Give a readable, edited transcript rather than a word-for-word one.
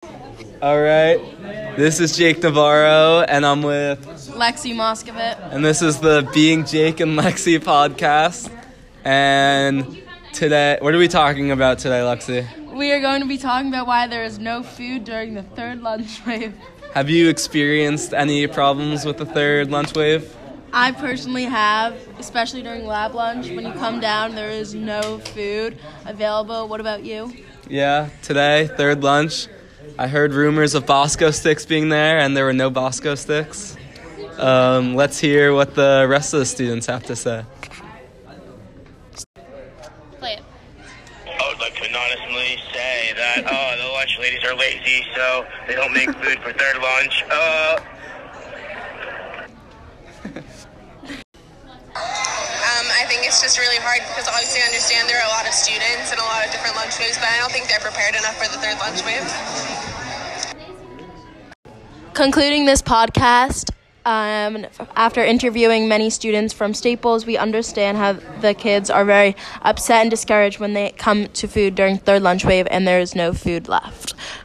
All right. This is Jake Navarro, and I'm with Lexi Moscovit. And this is the Being Jake and Lexi podcast. And today, what are we talking about today, Lexi? We are going to be talking about why there is no food during the third lunch wave. Have you experienced any problems with the third lunch wave? I personally have, especially during lab lunch. When you come down, there is no food available. What about you? Yeah, today, third lunch, I heard rumors of Bosco sticks being there, and there were no Bosco sticks. Let's hear what the rest of the students have to say. Play it. I would like to anonymously say that the lunch ladies are lazy, so they don't make food for third lunch. I think it's just really hard because obviously I understand there are a lot of students and a lot of different lunch waves, but I don't think they're prepared enough for the third lunch wave. Concluding this podcast, after interviewing many students from Staples, we understand how the kids are very upset and discouraged when they come to food during third lunch wave and there is no food left.